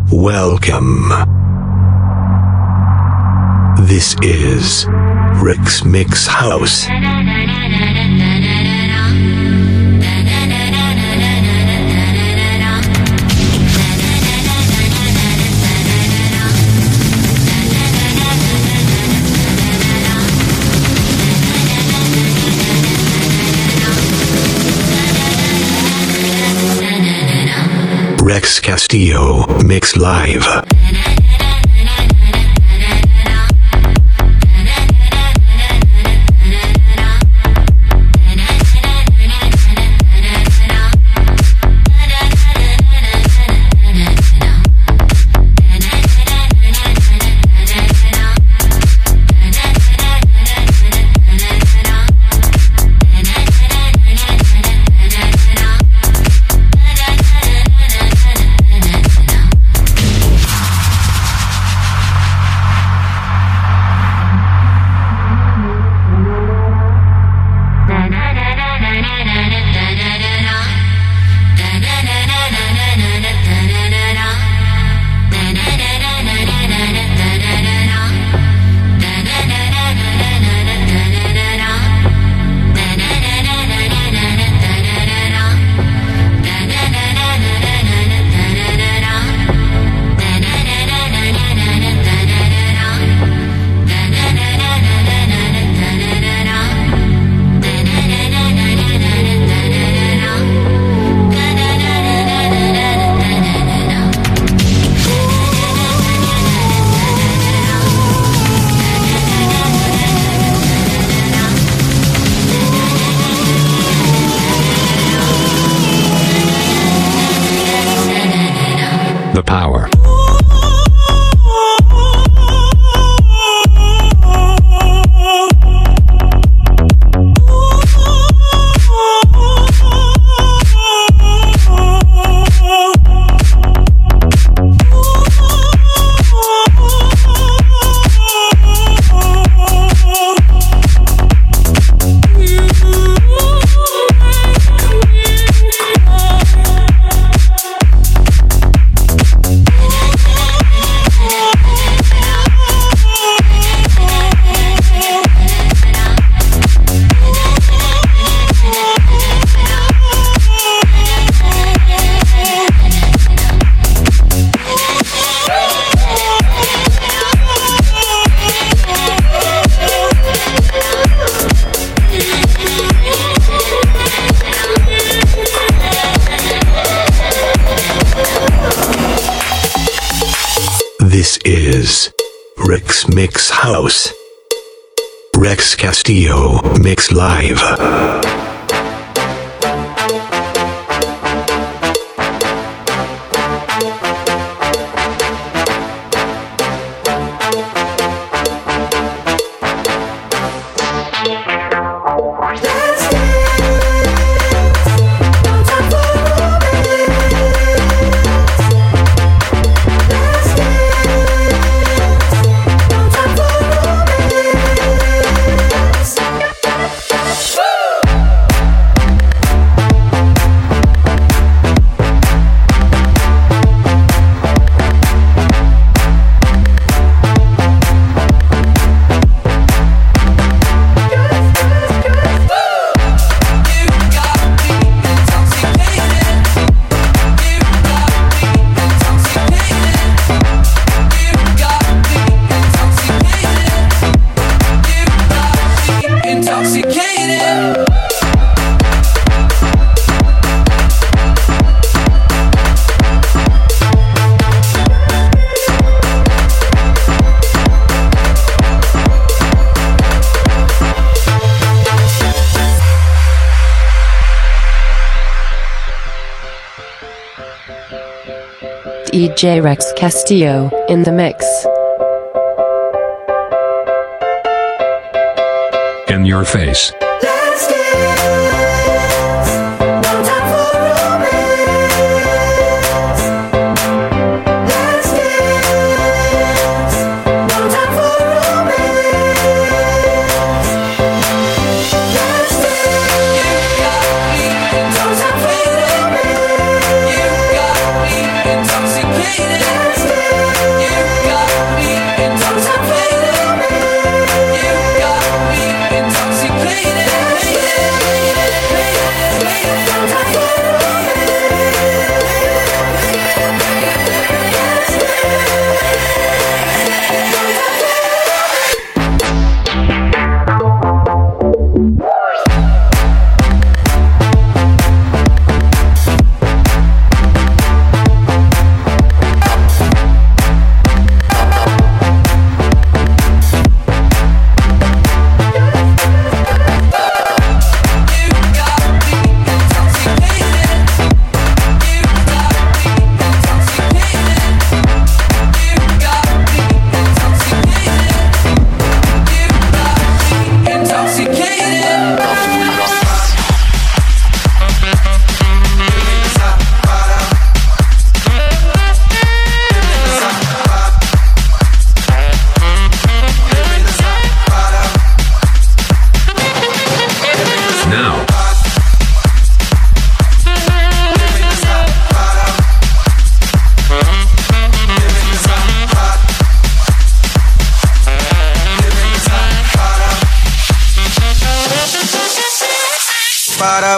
Welcome. This is Rick's Mix House. Rex Castillo Mix Live. The power. This is Rick's Mix House. Rex Castillo Mix Live. DJ Rex Castillo in the mix. In your face. Intoxicated.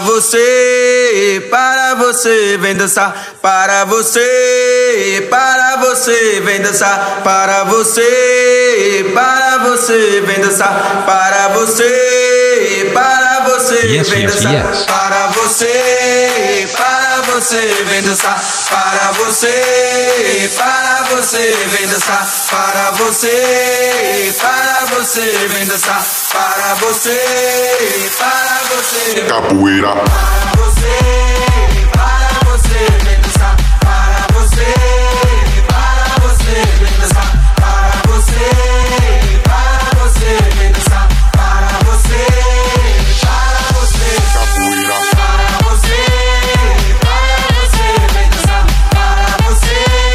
você, vem dançar. Para você, vem dançar. Para você, vem dançar. Para você, Yes, vem yes, dançar. yes. Para você, vem dançar. Para você, vem dançar. Para você, vem dançar. Para você, Capoeira. para você, vem dançar. Para você, vem dançar. Para você, vem dançar. Para você, Capoeira. para você, vem dançar. Para você,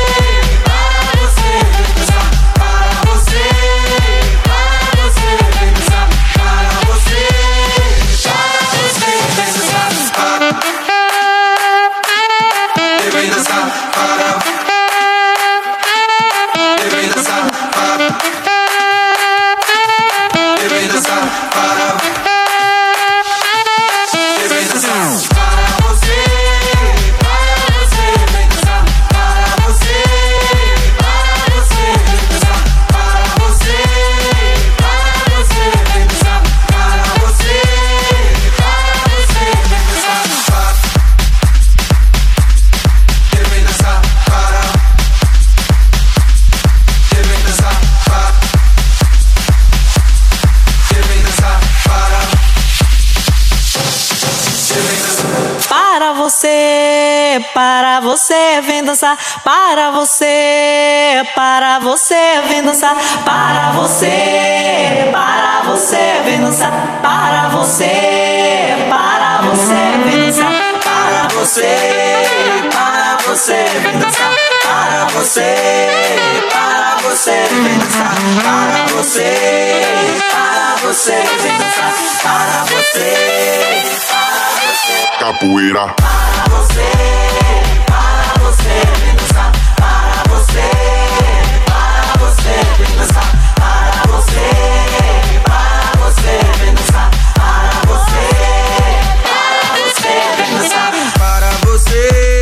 vem dançar. Para você, vem dançar. Para você, vem dançar. Vem dançar. Para vem dançar. Para vem dançar. Para vem dançar. Para você, vem dançar. Para você, vem dançar. Para você, vem dançar. Para você, vem dançar. Vem dançar. Para vem dançar. Vem dançar. Para você, vem dançar. Para você, vem dançar. Para você, vem dançar. Para você, vem dançar. Para você, vem dançar. Para você, vem dançar. Para você, vem dançar. Para você, Capoeira. para você, vem dançar. Para você, vem dançar. Para você, vem dançar. Para você, vem dançar. Para você,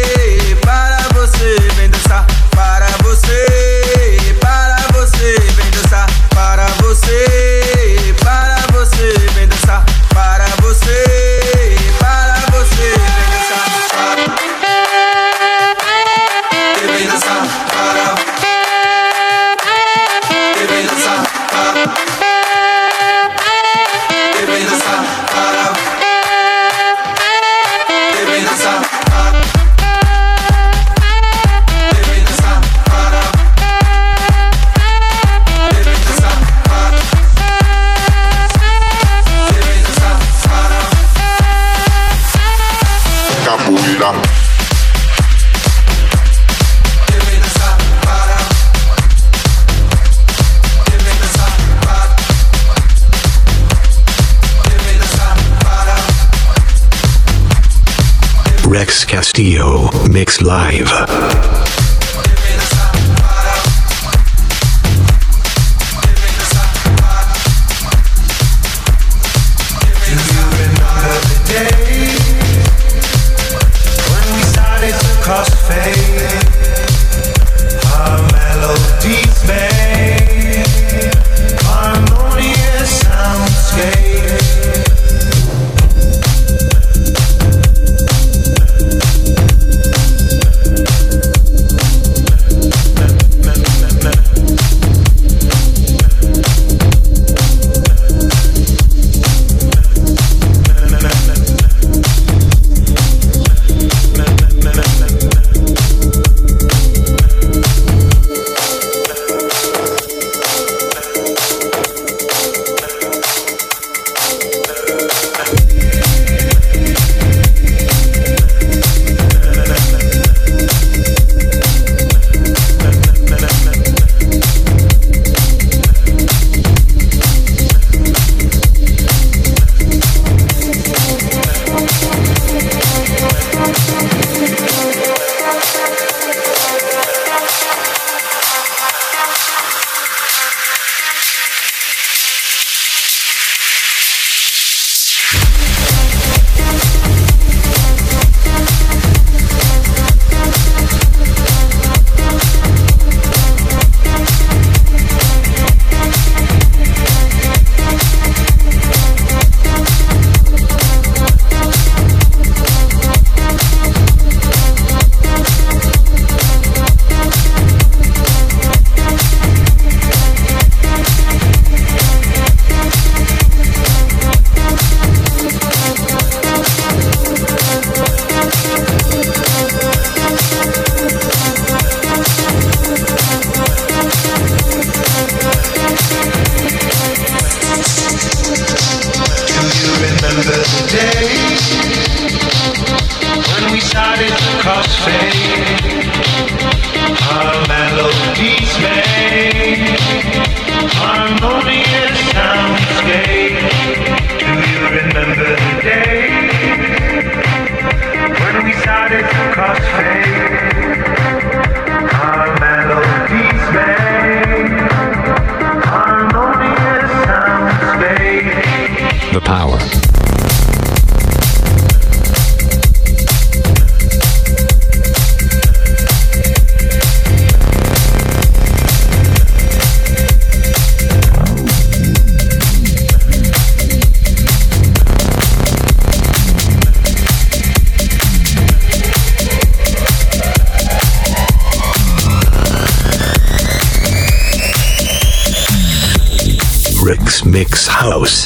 vem dançar. Para você, vem dançar. Para você, vem dançar. Para você, vem dançar. Vem dançar. Para vem dançar. Vem dançar. Para vem dançar. Vem dançar. Para vem dançar. Vem dançar. Para Capoeira. vem dançar. Para vem dançar. Vem dançar. Para Rex Castillo, Mix Live. vem dançar. Para vem dançar. When we started to cross fade, our melodies made harmonious soundscape. Rex Mix House.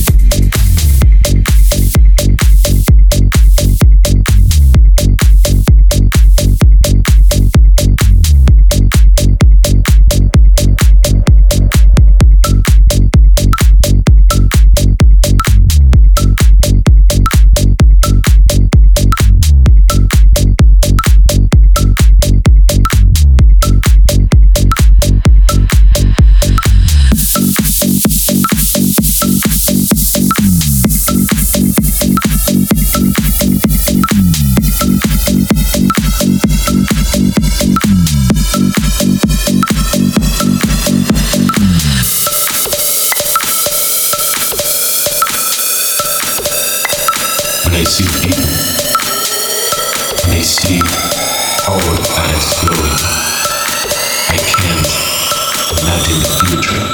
When I see people, when I see all the planets glowing, I can't imagine the future.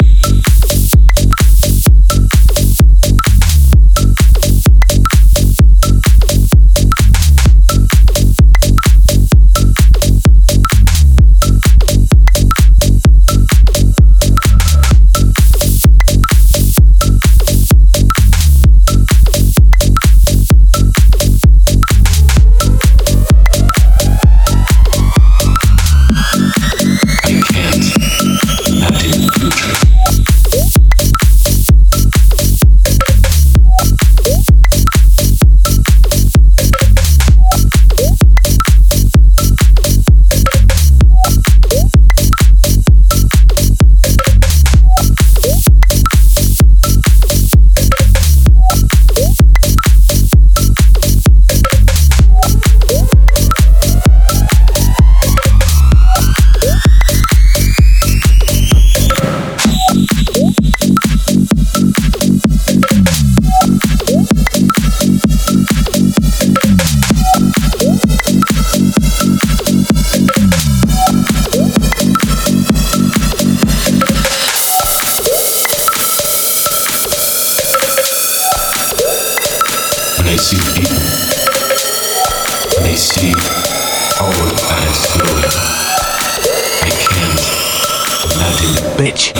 When I see people, when I see all the planets glowing, I can't imagine the Bitch.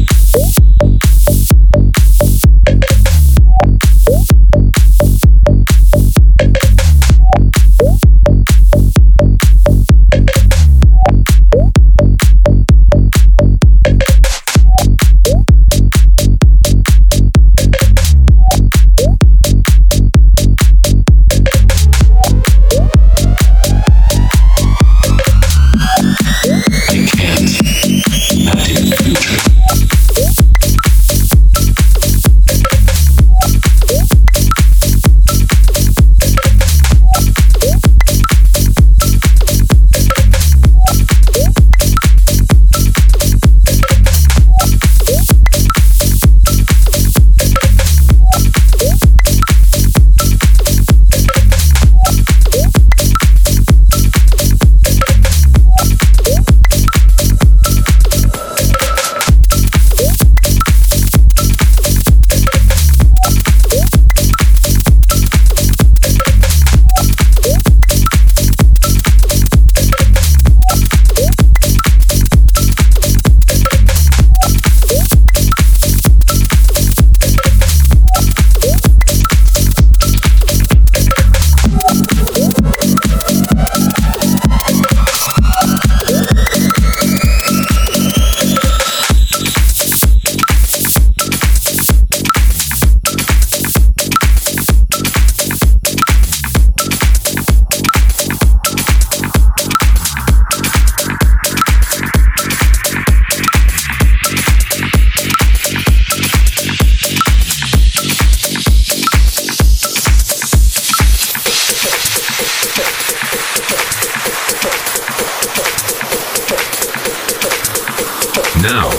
Now.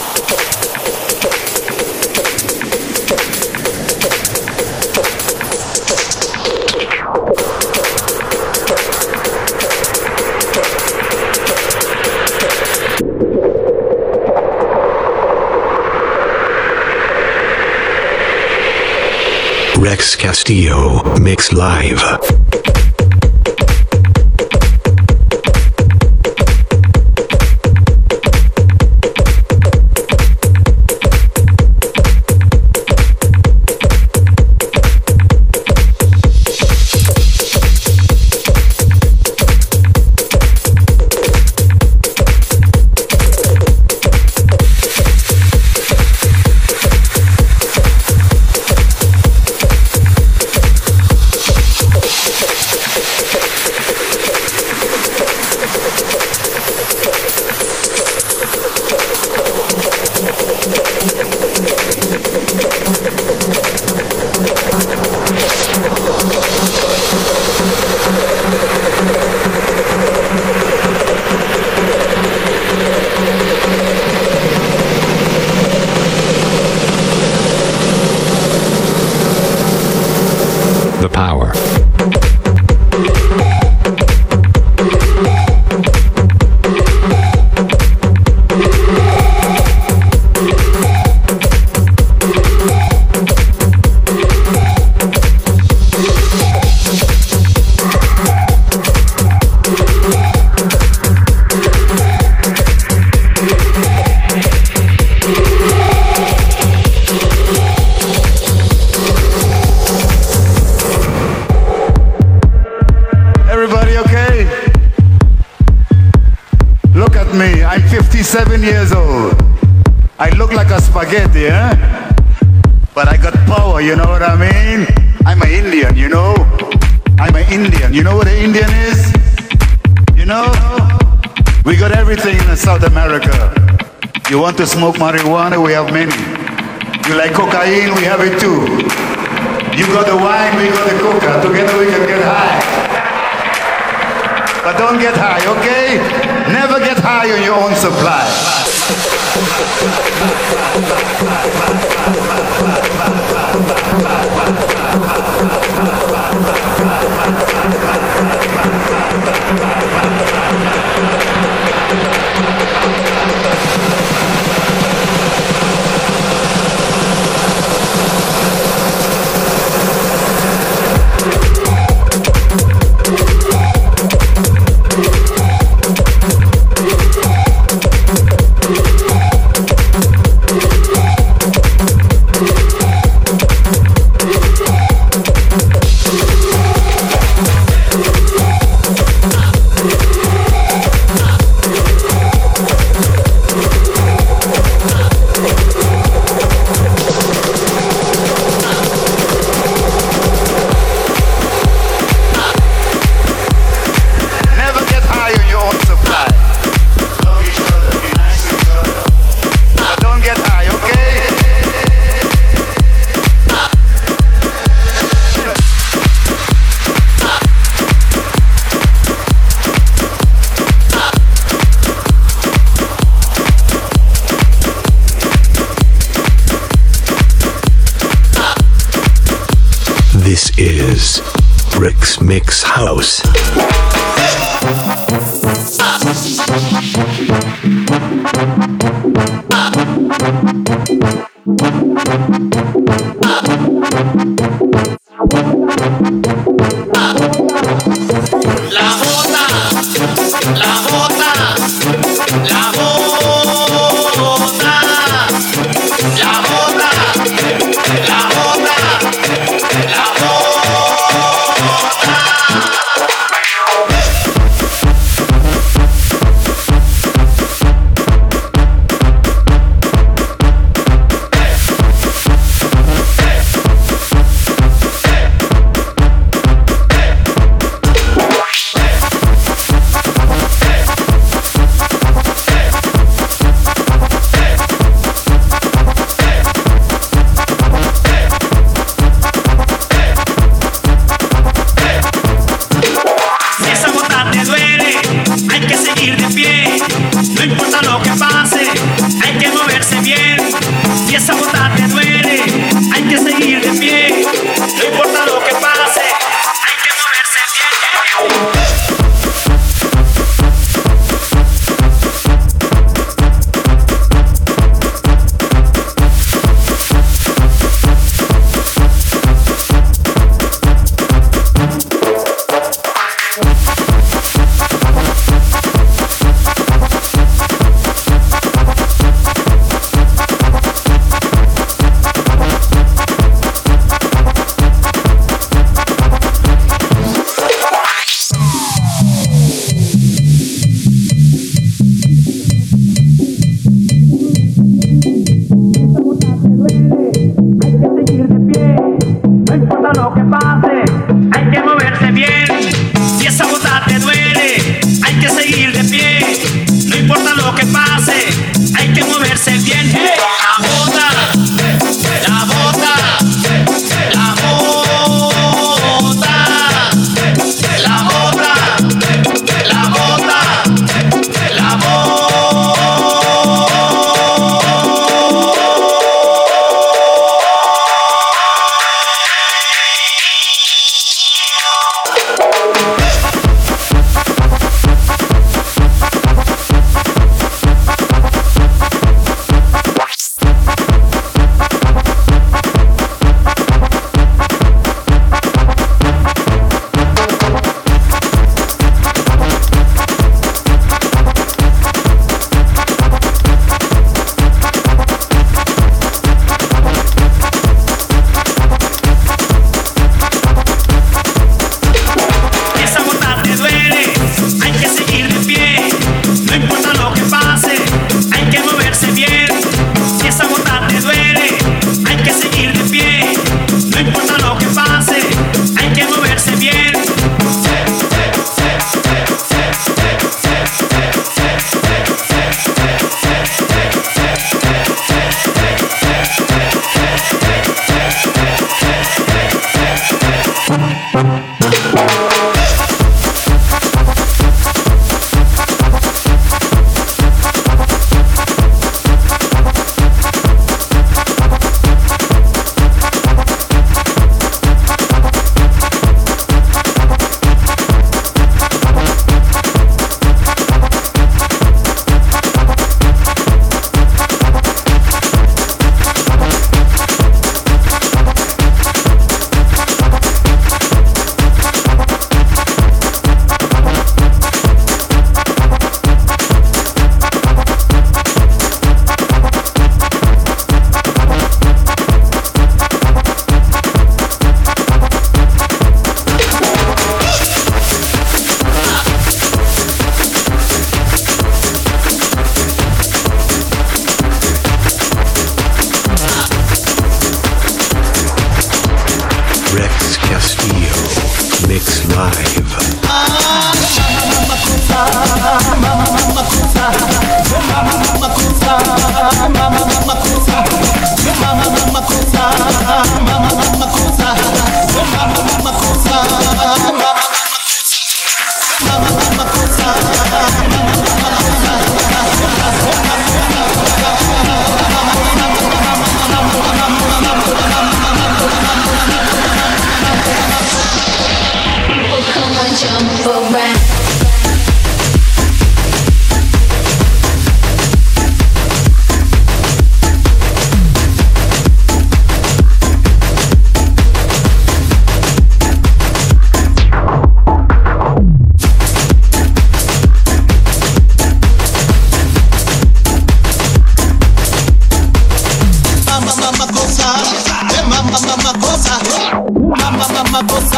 Rex Castillo Mix Live. Look at me, I'm 57 years old. I look like a spaghetti, eh? But I got power, you know what I mean? I'm an Indian, you know? I'm an Indian. You know what an Indian is? You know? We got everything in South America. You want to smoke marijuana? We have many. You like cocaine? We have it too. You got the wine, we got the coca. Together we can get high. But don't get high, okay? Never get high on your own supply. This is Rick's Mix House.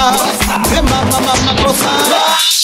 cosa, mamma cosa.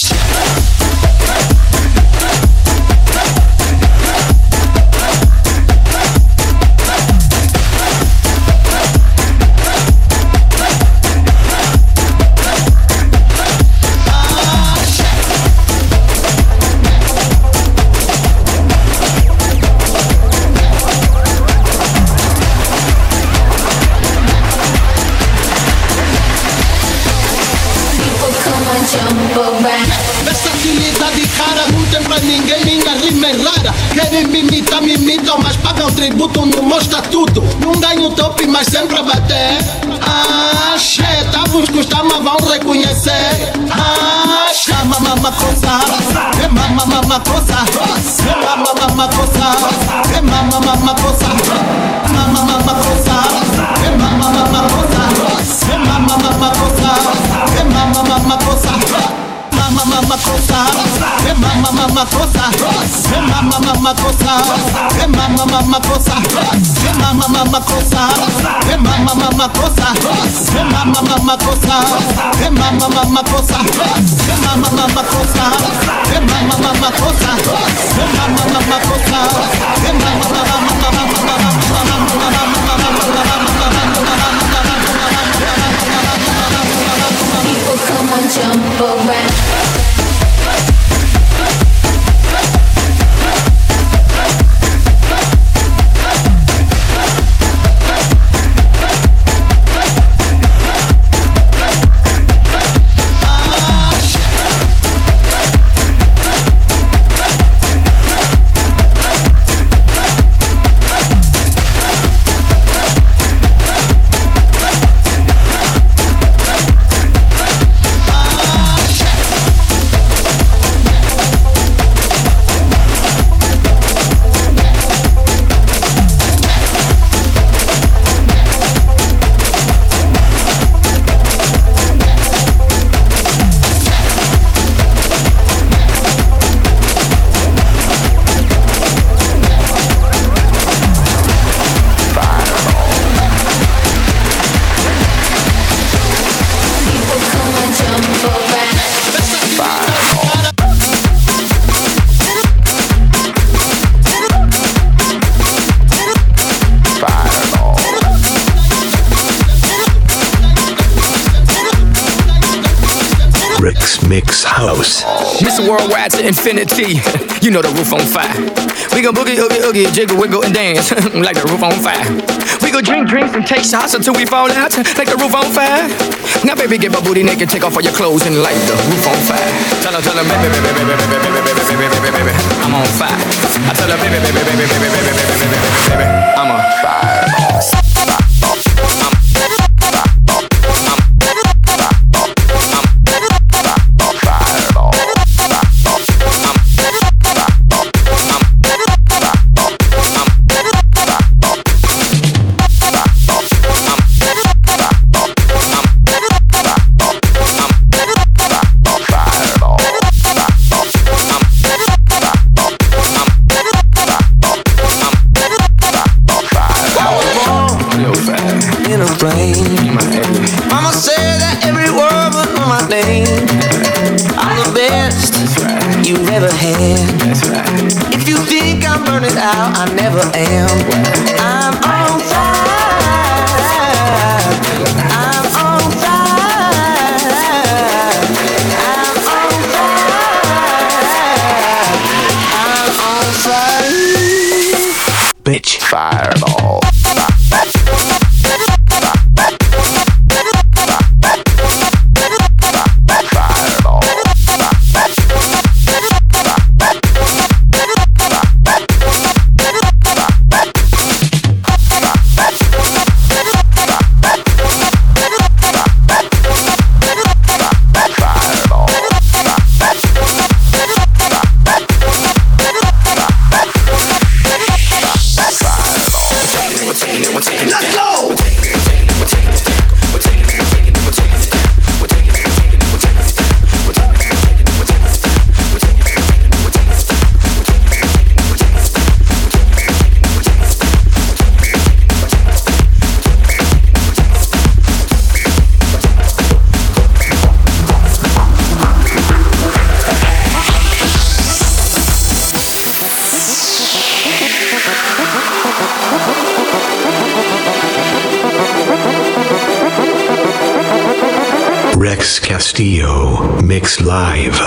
Versatilidade cara, não tem pra ninguém, minha rima é rara. Querem me imitam, mas pagam tributo, não mostra tudo. Não ganho top, mas sempre a bater. Tá vos custar, mas vão reconhecer. Mamma cosa, mamma cosa, mamma cosa, mamma cosa, mamma cosa, mamma cosa, mamma cosa, mamma cosa. Mamma cosa, mamma cosa, mamma cosa, mamma cosa, mamma cosa, mamma cosa, mamma cosa, mamma cosa, mamma cosa, mamma cosa, mamma People come and jump around. Rick's Mix House. Mr. Worldwide to infinity. You know the roof on fire. We gon' boogie, oogie, oogie, jiggle, wiggle, and dance like the roof on fire. We gon' drink drinks and take shots until we fall out like the roof on fire. Now, baby, get my booty naked, take off all your clothes and light the roof on fire. Tell her, baby, baby, baby, baby, baby, baby, baby, baby, baby, I'm on fire. I tell her, baby, baby, baby, baby, baby, baby, baby, baby, I'm on fire. Mama said that every word was on my name. I'm the best you've ever had. If you think I'm burning out, I never am. I'm on fire. I'm on fire. I'm on fire. I'm on fire. Bitch. Fireball. Rex Castillo, mix live.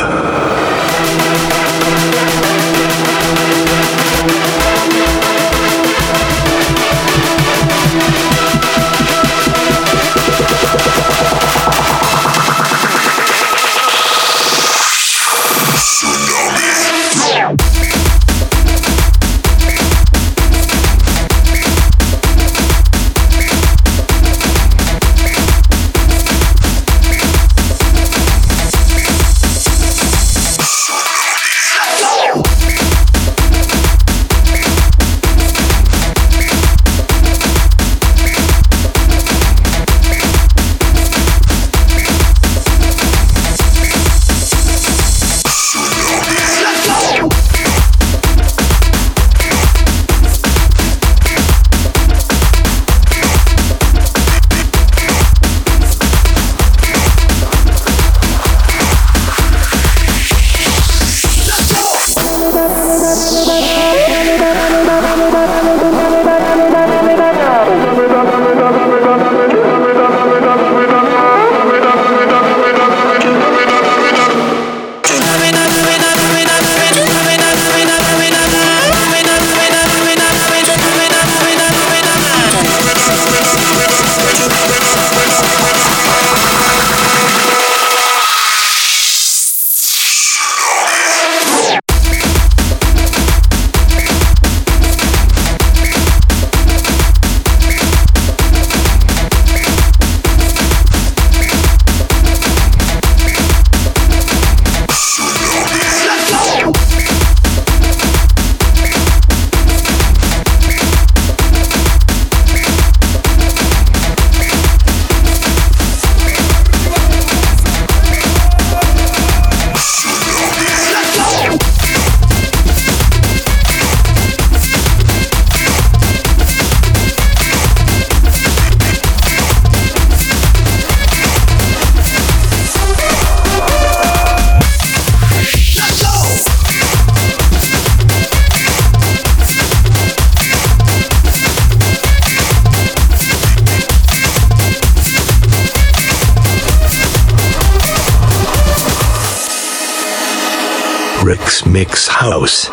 Rick's Mix House.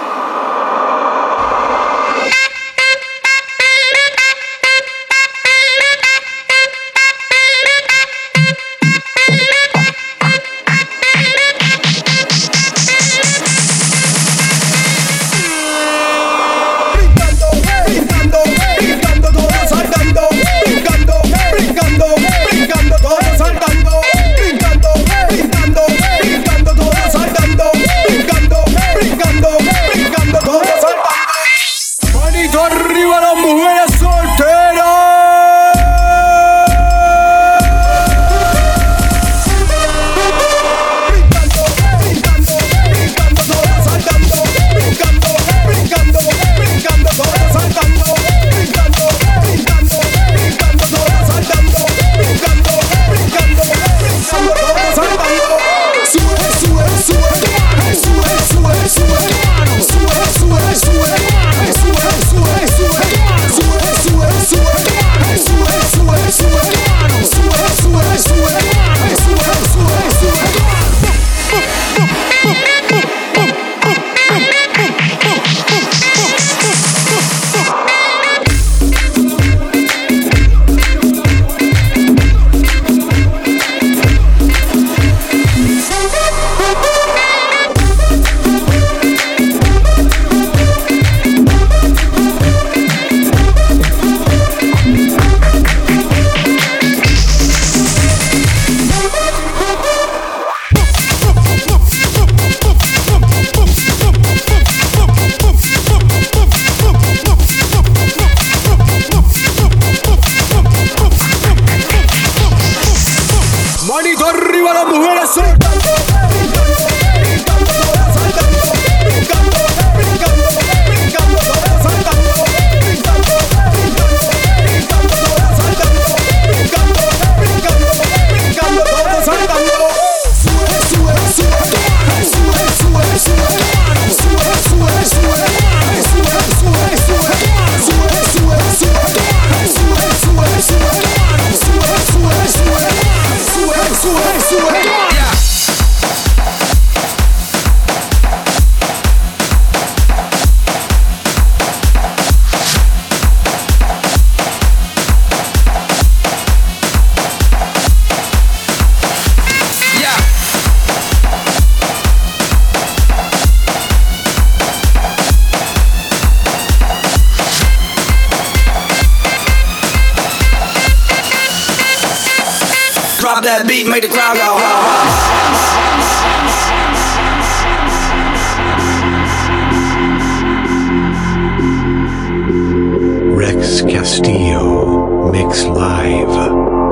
Brincando, that beat, make the crowd go ha Rex Castillo mix live.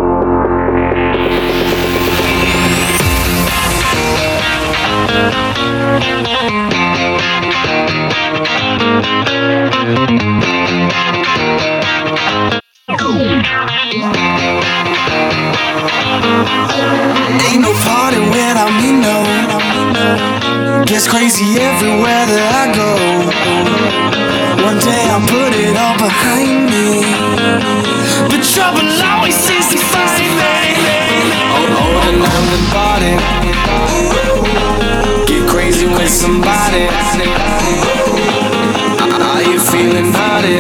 Ain't no party without me, no. Gets crazy everywhere that I go. One day I'll put it all behind me, but trouble always seems to find me. Oh, and I'm the party. Get crazy with somebody. Are you feeling naughty?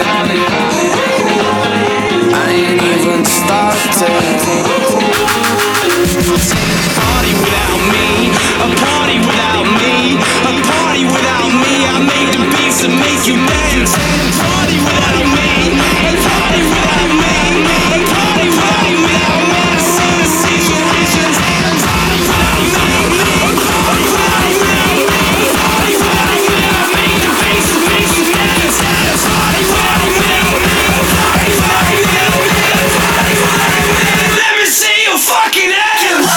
I ain't even started. Party without me, a party without me, a party without me. I made the beats to make you dance. Party without me, a party without me, a party without me. I wanna see the situations. Party without me, a party without me, a party without me. I made the beats to make you dance. Party without me, a party without me, a party without me. Let me see you fucking ass.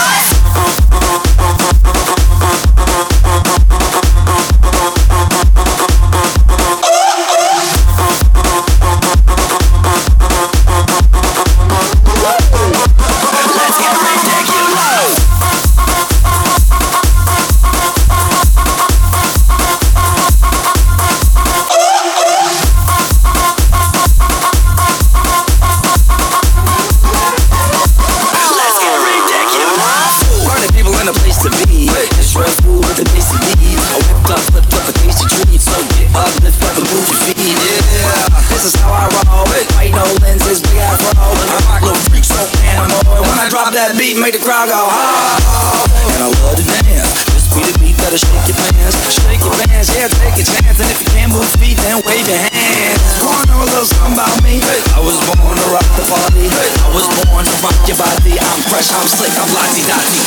That beat make the crowd go ha, and I love to dance. This be the beat that'll shake your pants, yeah, take a chance. And if you can't move feet, then wave your hands. Wanna know a little something about me? I was born to rock the party. I was born to rock your body. I'm fresh, I'm slick, I'm lottie-dottie.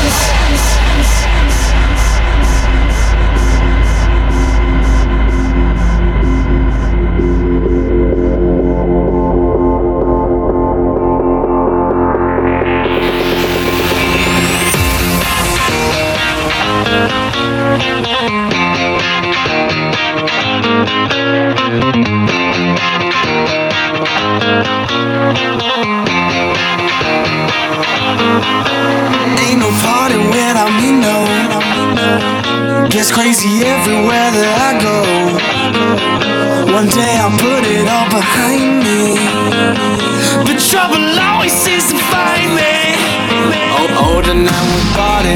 Ain't no party without me, no. Gets crazy everywhere that I go. One day I'll put it all behind me, but trouble always seems to find me. Oh, tonight we party.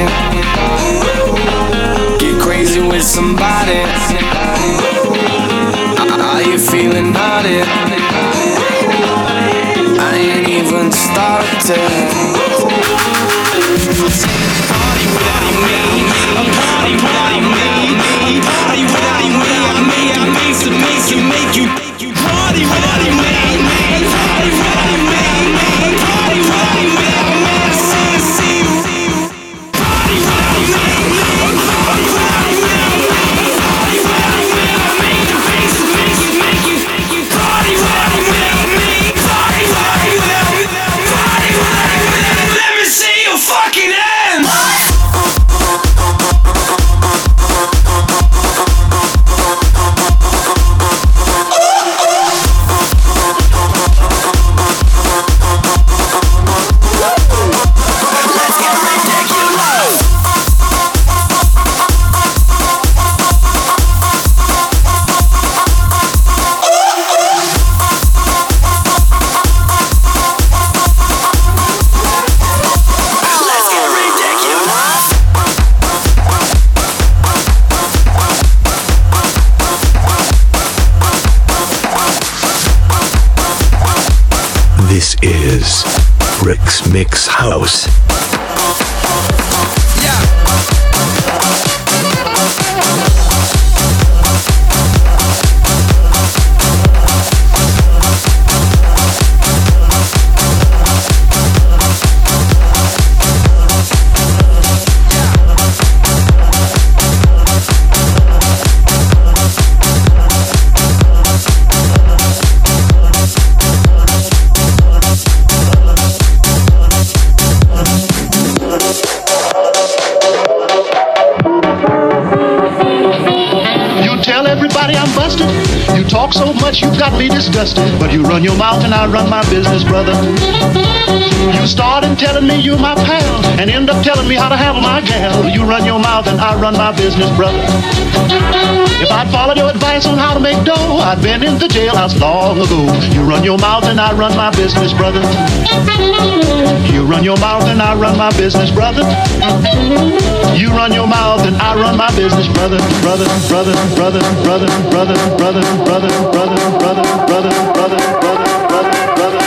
Get crazy with somebody. Are you feeling naughty? I ain't even started. Party without me, a party without me, a party without me. I made to make you party without me, a party without me, a party without me. I wanna see you party without me, a party without me, a party without me. I made the beats to make you party without me, party without me, party without me. Let me see you fucking hands. This is Rick's Mix House. talk so much you got me disgusted, but you run your mouth and I run my business, brother. You started telling me you my pal and end up telling me how to handle my gal. You run your mouth and I run my business, brother. If I'd followed your advice on how to make dough, I'd been in the jailhouse long ago. You run your mouth and I run my business, brother. You run your mouth and I run my business, brother. You run your mouth and I run my business, brother. Brother, brother, brother, brother, brother, brother, brother, brother, brother, brother, brother, brother.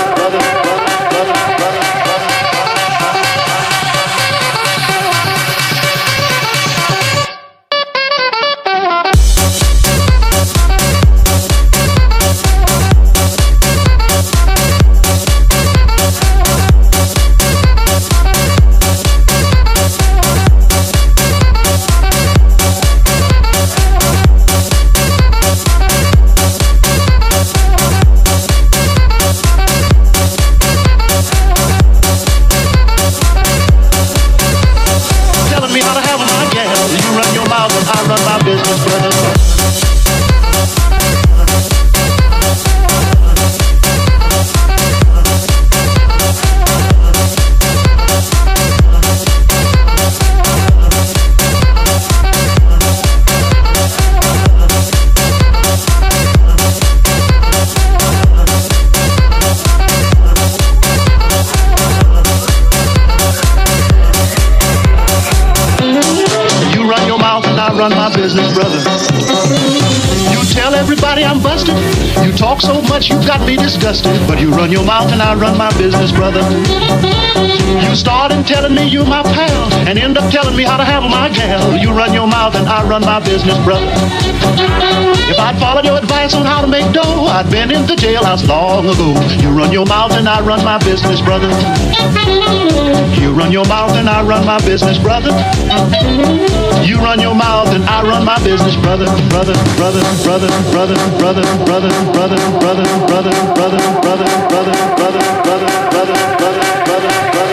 Run my business, brother. You tell everybody I'm busted. You talk so much you got me disgusted, but you run your mouth and I run my business, brother. You started telling me you my pal and end up telling me how to handle my gal. You run your mouth and I run my business, brother. If I'd followed your advice on how to make dough, I'd been in the jailhouse long ago. You run your mouth and I run my business, brother. You run your mouth and I run my business, brother. You run your mouth and I run my business, brother, brother, brother, brother, brother, brother, brother, brother, brother, brother, brother, brother, brother, brother, brother, brother,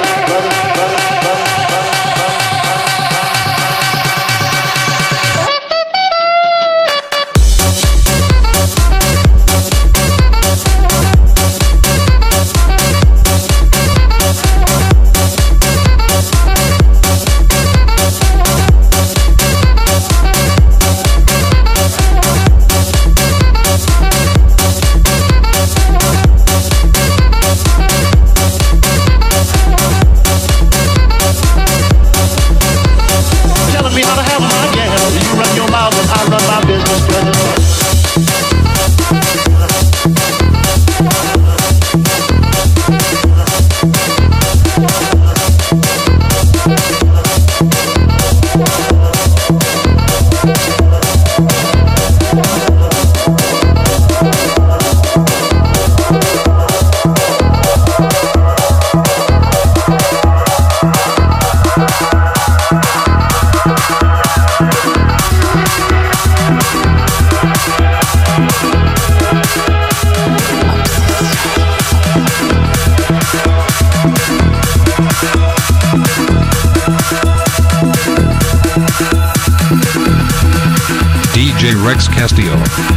DJ Rex Castillo,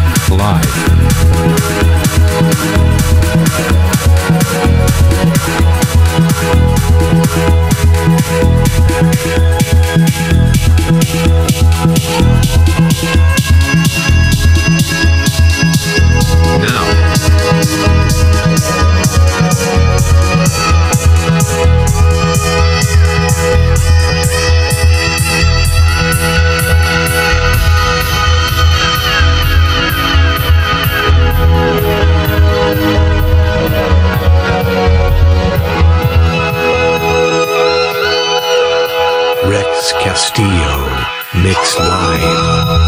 live. Rex Castillo, mixed live.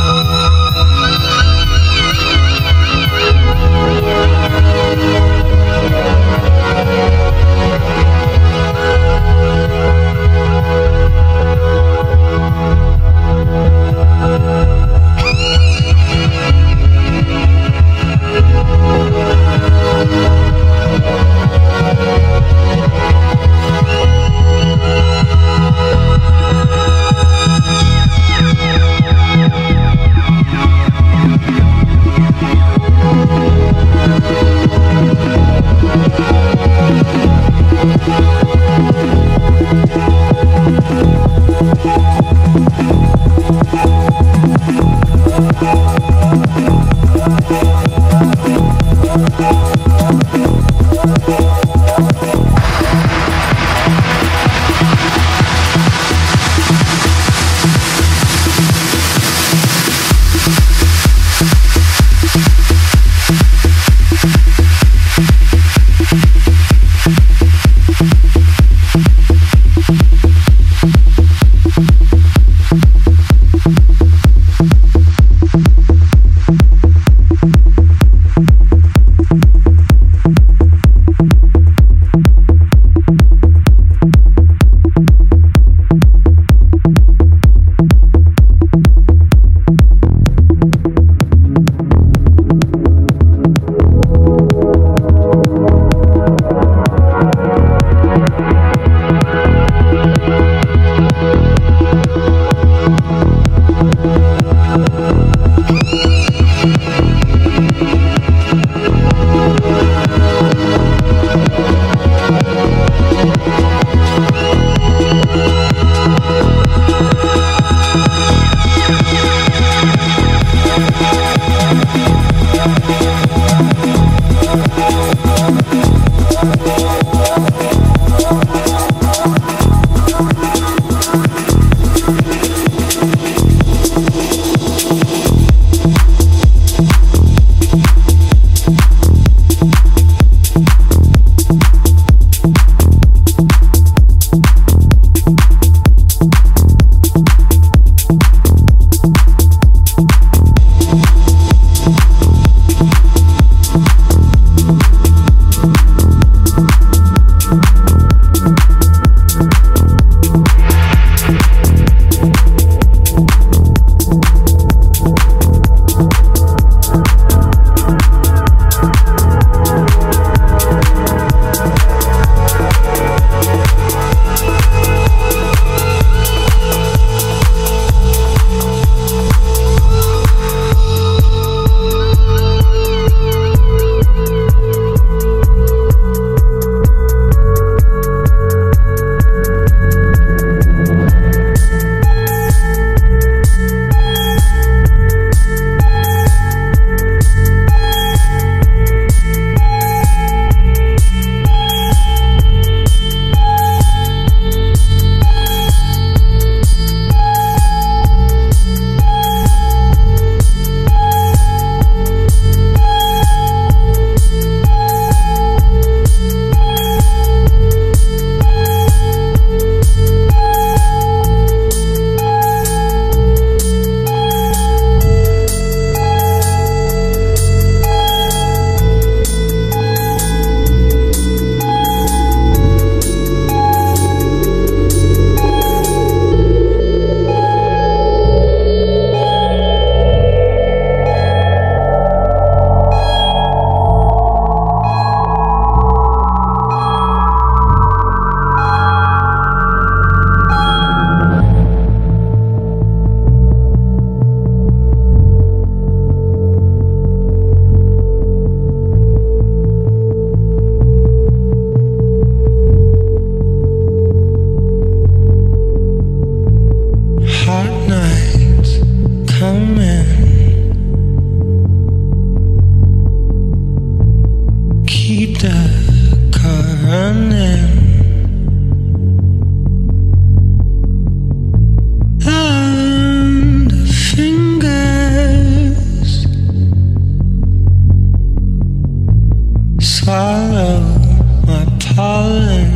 swallow my pollen.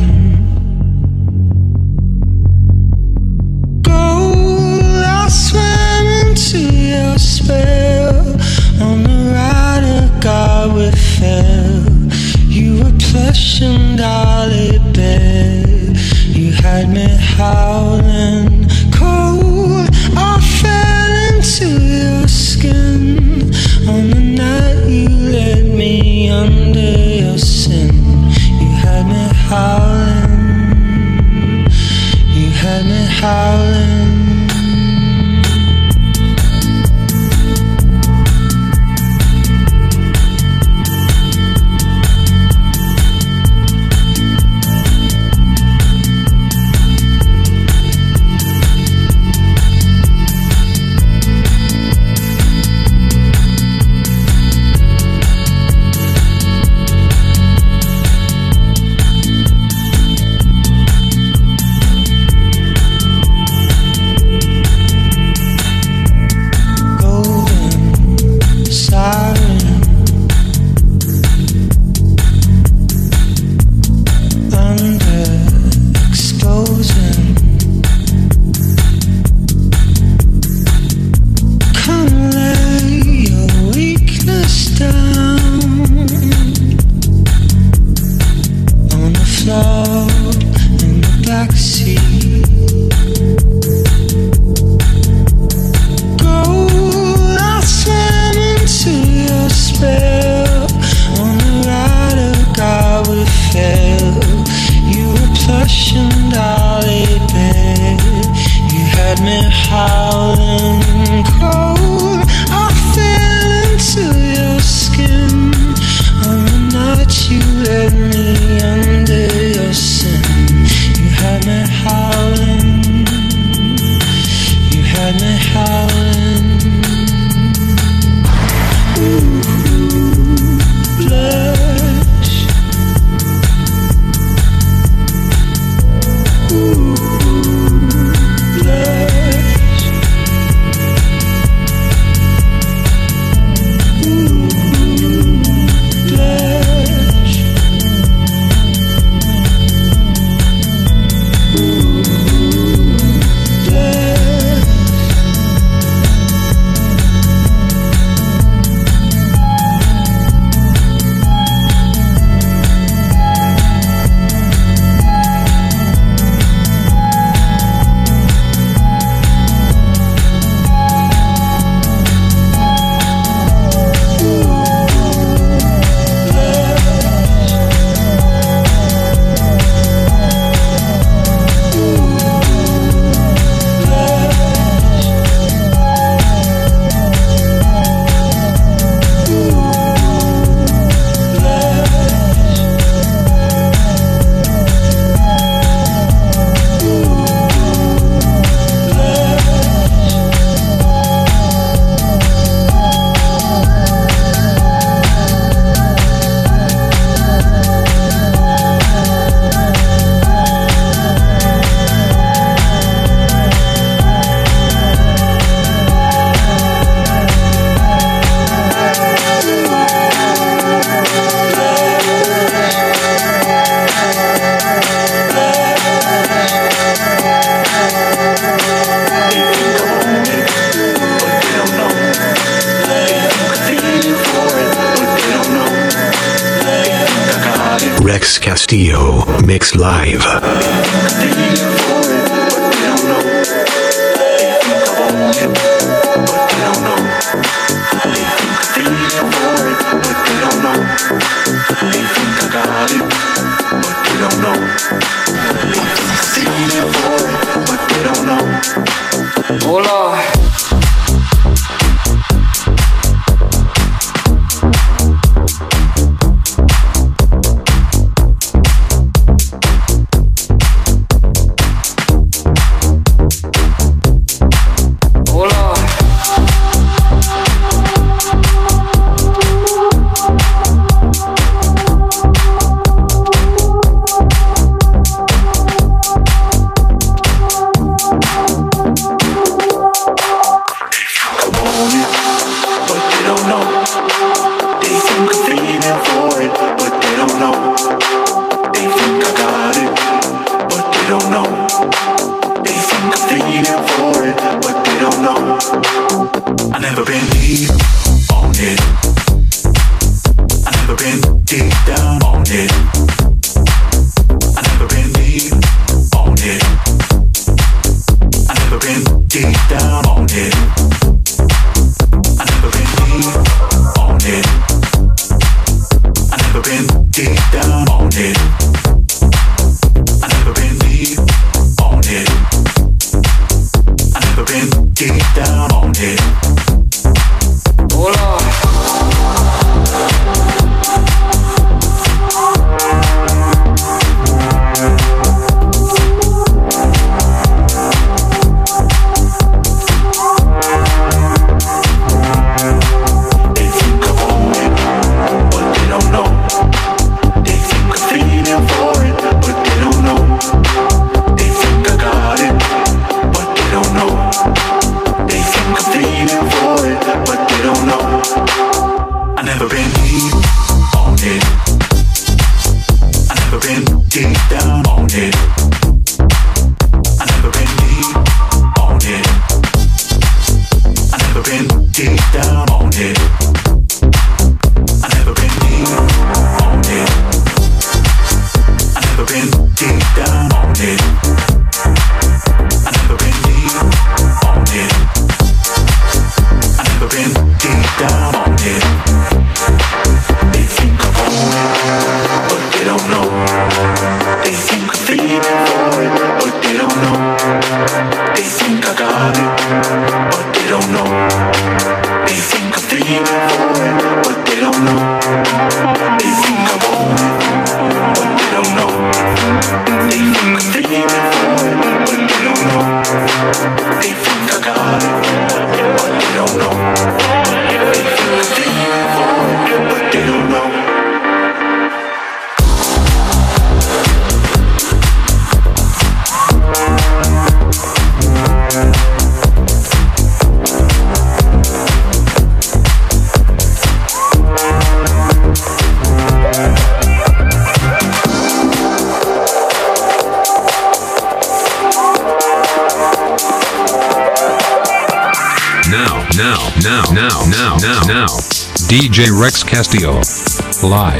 Gold, I swam into your spell. On the ride of God we fell. You were plush and dolly bed. You had me howling cold. I fell into your skin. On the night you let me under your sin. You had me howling. You had me howling. Rex Castillo mix live. Oh Lord. But they don't know. They think I'm feeling for it, but they don't been deep down on it. I never been deep on it. I never been deep down on it. I never been deep on it. I never been deep down on it. I never been deep on it. I never been deep down on it. Oh Lord. Now, DJ Rex Castillo, live.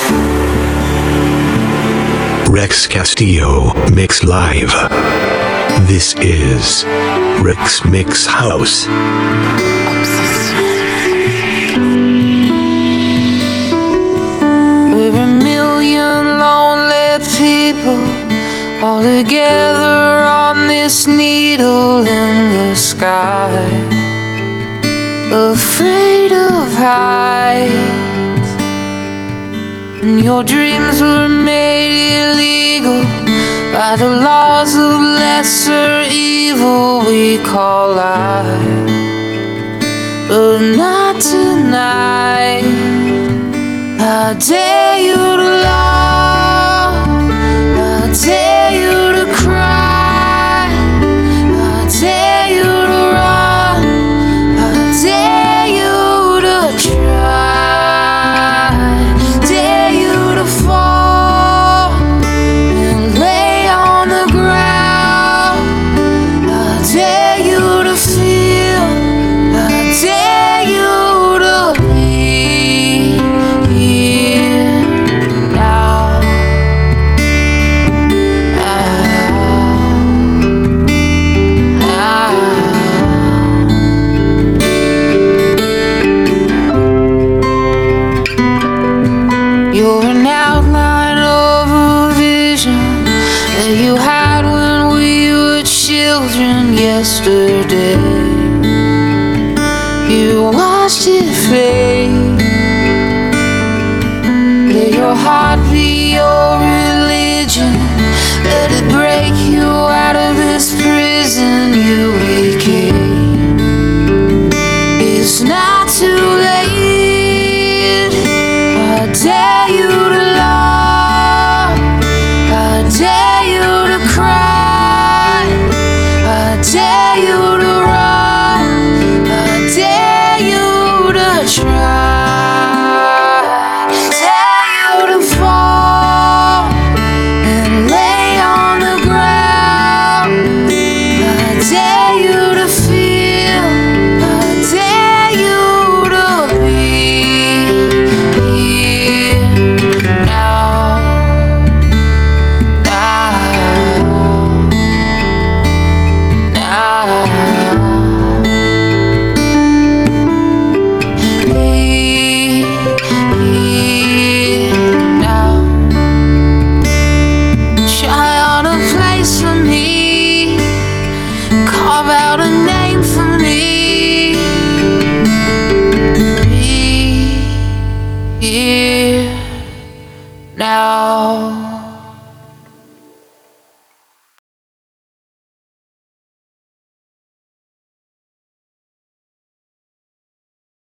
Rex Castillo, mix live. This is Rex Mix House. We're a million lonely people all together on this needle in the sky, afraid of heights. And your dreams were made illegal by the laws of lesser evil we call life, but not tonight. I dare you to love, I dare you to cry, I dare you to run, I dare you to try, dare you to fall and lay on the ground. I dare you to feel, I dare you to be here now. You're an outline of a vision that you had when we were children yesterday. You watched it fade. Let your heart be your religion. Let it break.